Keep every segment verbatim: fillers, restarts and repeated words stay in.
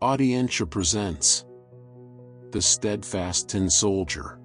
Audientia presents The Steadfast Tin Soldier.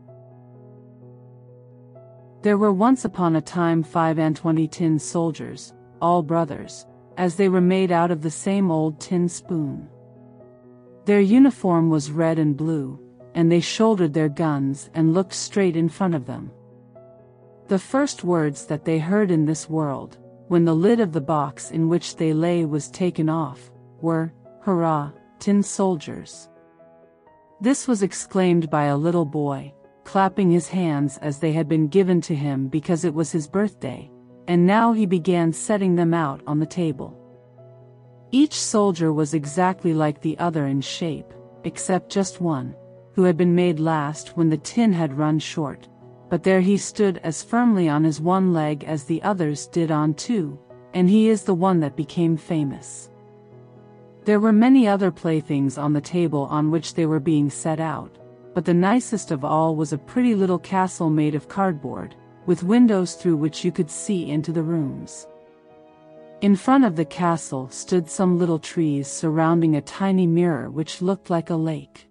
There were once upon a time five and twenty tin soldiers, all brothers, as they were made out of the same old tin spoon. Their uniform was red and blue, and they shouldered their guns and looked straight in front of them. The first words that they heard in this world, when the lid of the box in which they lay was taken off, were, "Hurrah, tin soldiers!" This was exclaimed by a little boy, clapping his hands as they had been given to him because it was his birthday, and now he began setting them out on the table. Each soldier was exactly like the other in shape, except just one, who had been made last when the tin had run short, but there he stood as firmly on his one leg as the others did on two, and he is the one that became famous. There were many other playthings on the table on which they were being set out, but the nicest of all was a pretty little castle made of cardboard, with windows through which you could see into the rooms. In front of the castle stood some little trees surrounding a tiny mirror which looked like a lake.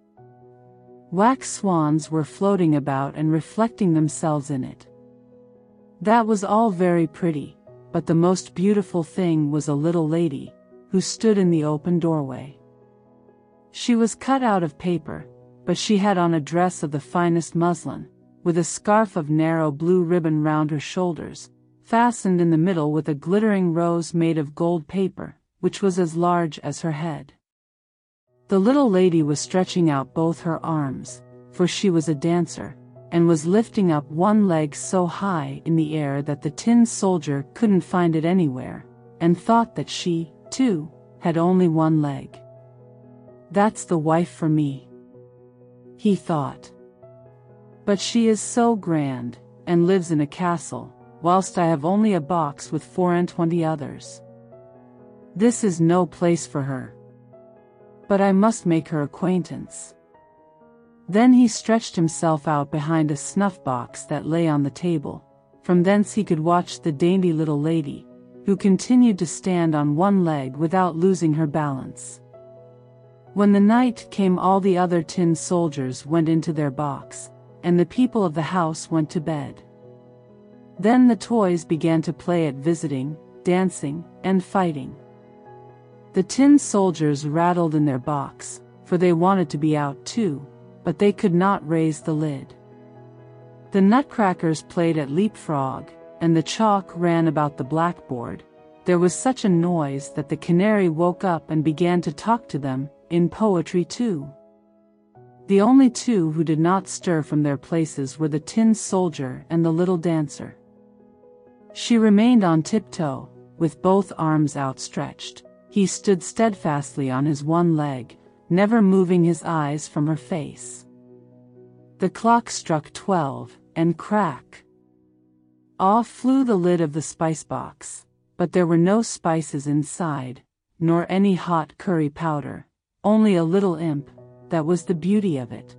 Wax swans were floating about and reflecting themselves in it. That was all very pretty, but the most beautiful thing was a little lady, who stood in the open doorway. She was cut out of paper, but she had on a dress of the finest muslin, with a scarf of narrow blue ribbon round her shoulders, fastened in the middle with a glittering rose made of gold paper, which was as large as her head. The little lady was stretching out both her arms, for she was a dancer, and was lifting up one leg so high in the air that the tin soldier couldn't find it anywhere, and thought that she, too, had only one leg. "That's the wife for me," he thought. "But she is so grand, and lives in a castle, whilst I have only a box with four and twenty others. This is no place for her. But I must make her acquaintance." Then he stretched himself out behind a snuff-box that lay on the table. From thence he could watch the dainty little lady, who continued to stand on one leg without losing her balance. When the night came, all the other tin soldiers went into their box, and the people of the house went to bed. Then the toys began to play at visiting, dancing, and fighting. The tin soldiers rattled in their box, for they wanted to be out too, but they could not raise the lid. The nutcrackers played at leapfrog, and the chalk ran about the blackboard. There was such a noise that the canary woke up and began to talk to them, in poetry too. The only two who did not stir from their places were the tin soldier and the little dancer. She remained on tiptoe, with both arms outstretched. He stood steadfastly on his one leg, never moving his eyes from her face. The clock struck twelve, and crack! Off flew the lid of the spice box, but there were no spices inside, nor any hot curry powder, only a little imp. That was the beauty of it.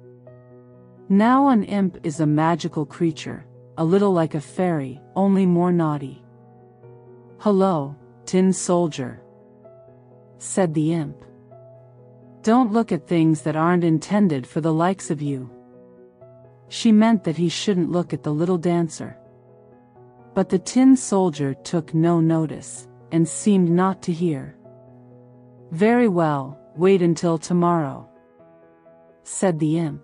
Now an imp is a magical creature, a little like a fairy, only more naughty. "Hello, tin soldier," said the imp. "Don't look at things that aren't intended for the likes of you." She meant that he shouldn't look at the little dancer. But the tin soldier took no notice, and seemed not to hear. "Very well, wait until tomorrow," said the imp.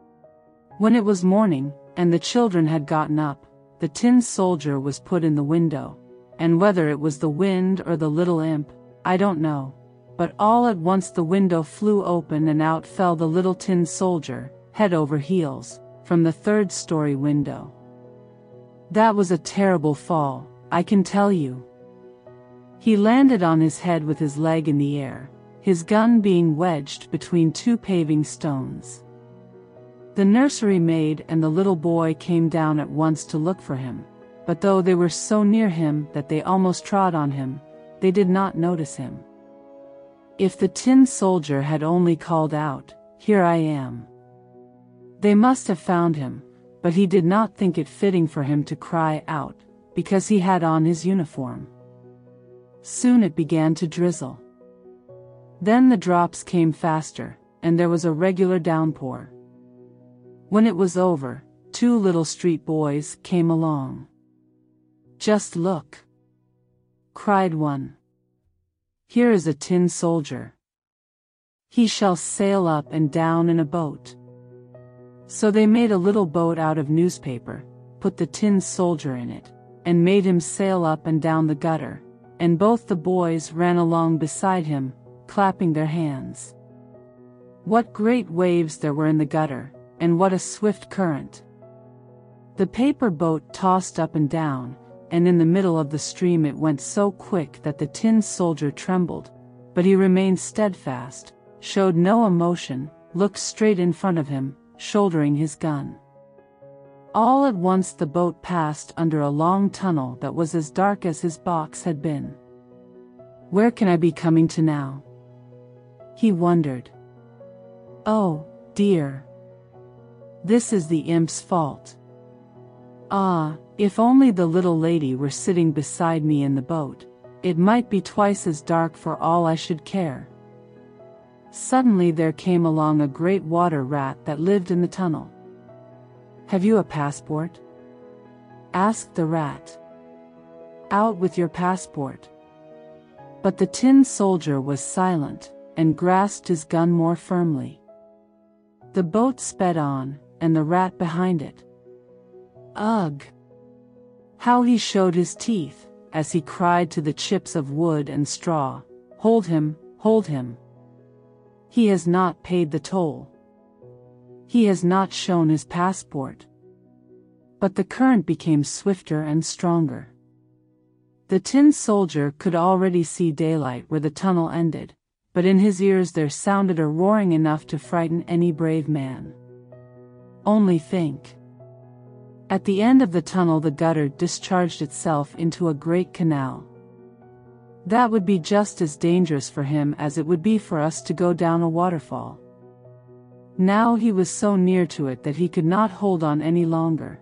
When it was morning, and the children had gotten up, the tin soldier was put in the window, and whether it was the wind or the little imp, I don't know, but all at once the window flew open and out fell the little tin soldier, head over heels, from the third-story window. That was a terrible fall, I can tell you. He landed on his head with his leg in the air, his gun being wedged between two paving stones. The nursery maid and the little boy came down at once to look for him, but though they were so near him that they almost trod on him, they did not notice him. If the tin soldier had only called out, "Here I am," they must have found him, but he did not think it fitting for him to cry out, because he had on his uniform. Soon it began to drizzle. Then the drops came faster, and there was a regular downpour. When it was over, two little street boys came along. "Just look!" cried one. "Here is a tin soldier. He shall sail up and down in a boat." So they made a little boat out of newspaper, put the tin soldier in it, and made him sail up and down the gutter, and both the boys ran along beside him, clapping their hands. What great waves there were in the gutter, and what a swift current! The paper boat tossed up and down, and in the middle of the stream it went so quick that the tin soldier trembled, but he remained steadfast, showed no emotion, looked straight in front of him, shouldering his gun. All at once the boat passed under a long tunnel that was as dark as his box had been. "Where can I be coming to now?" he wondered. "Oh, dear! This is the imp's fault. Ah, if only the little lady were sitting beside me in the boat, it might be twice as dark for all I should care." Suddenly there came along a great water rat that lived in the tunnel. "Have you a passport?" asked the rat. "Out with your passport." But the tin soldier was silent, and grasped his gun more firmly. The boat sped on, and the rat behind it. Ugh! How he showed his teeth, as he cried to the chips of wood and straw, "Hold him, hold him! He has not paid the toll. He has not shown his passport." But the current became swifter and stronger. The tin soldier could already see daylight where the tunnel ended, but in his ears there sounded a roaring enough to frighten any brave man. Only think! At the end of the tunnel the gutter discharged itself into a great canal. That would be just as dangerous for him as it would be for us to go down a waterfall. Now he was so near to it that he could not hold on any longer.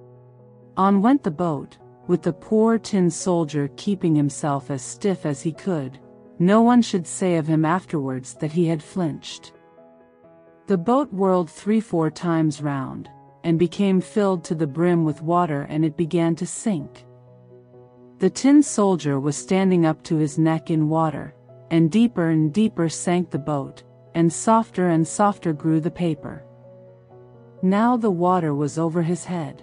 On went the boat, with the poor tin soldier keeping himself as stiff as he could. No one should say of him afterwards that he had flinched. The boat whirled three-four times round, and became filled to the brim with water, and it began to sink. The tin soldier was standing up to his neck in water, and deeper and deeper sank the boat, and softer and softer grew the paper. Now the water was over his head.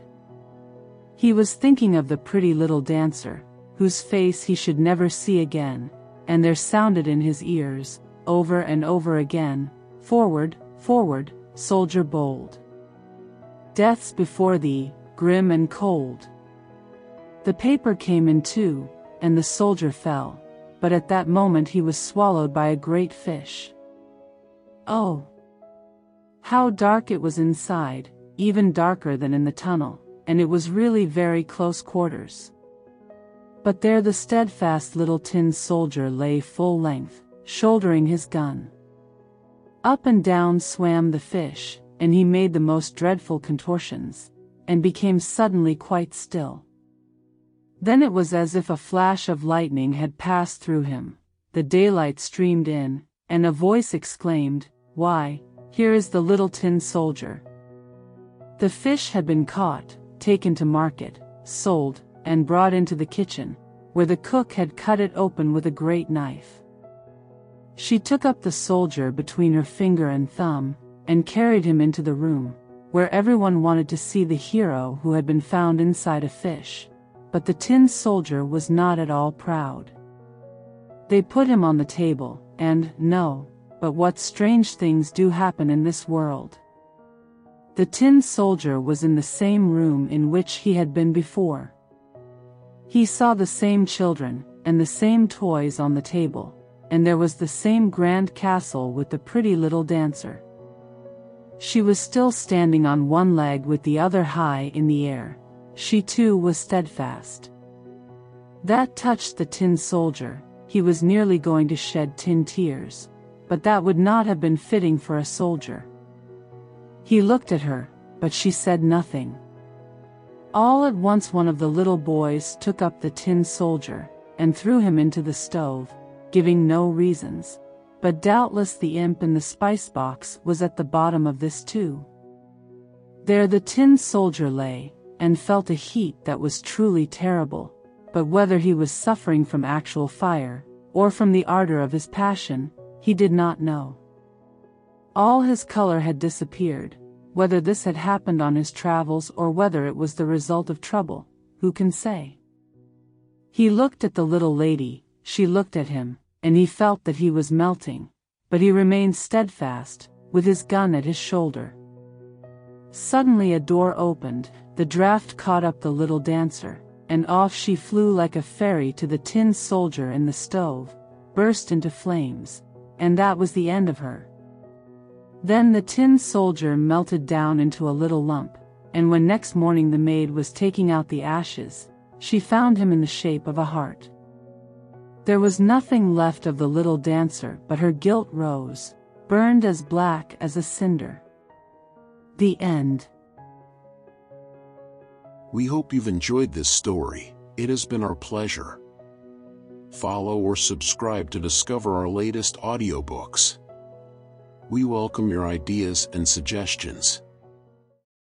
He was thinking of the pretty little dancer, whose face he should never see again, and there sounded in his ears, over and over again, "Forward, forward, soldier bold! Death's before thee, grim and cold." The paper came in two, and the soldier fell, but at that moment he was swallowed by a great fish. Oh! How dark it was inside, even darker than in the tunnel, and it was really very close quarters. But there the steadfast little tin soldier lay full length, shouldering his gun. Up and down swam the fish, and he made the most dreadful contortions, and became suddenly quite still. Then it was as if a flash of lightning had passed through him, the daylight streamed in, and a voice exclaimed, "Why, here is the little tin soldier." The fish had been caught, taken to market, sold, and brought into the kitchen, where the cook had cut it open with a great knife. She took up the soldier between her finger and thumb, and carried him into the room, where everyone wanted to see the hero who had been found inside a fish. But the tin soldier was not at all proud. They put him on the table, and, no, but what strange things do happen in this world. The tin soldier was in the same room in which he had been before. He saw the same children, and the same toys on the table, and there was the same grand castle with the pretty little dancer. She was still standing on one leg with the other high in the air. She too was steadfast. That touched the tin soldier. He was nearly going to shed tin tears, but that would not have been fitting for a soldier. He looked at her, but she said nothing. All at once one of the little boys took up the tin soldier, and threw him into the stove, giving no reasons, but doubtless the imp in the spice box was at the bottom of this too. There the tin soldier lay, and felt a heat that was truly terrible, but whether he was suffering from actual fire, or from the ardor of his passion, he did not know. All his color had disappeared. Whether this had happened on his travels or whether it was the result of trouble, who can say? He looked at the little lady, she looked at him, and he felt that he was melting, but he remained steadfast, with his gun at his shoulder. Suddenly a door opened, the draught caught up the little dancer, and off she flew like a fairy to the tin soldier in the stove, burst into flames, and that was the end of her. Then the tin soldier melted down into a little lump, and when next morning the maid was taking out the ashes, she found him in the shape of a heart. There was nothing left of the little dancer but her gilt rose, burned as black as a cinder. The end. We hope you've enjoyed this story. It has been our pleasure. Follow or subscribe to discover our latest audiobooks. We welcome your ideas and suggestions.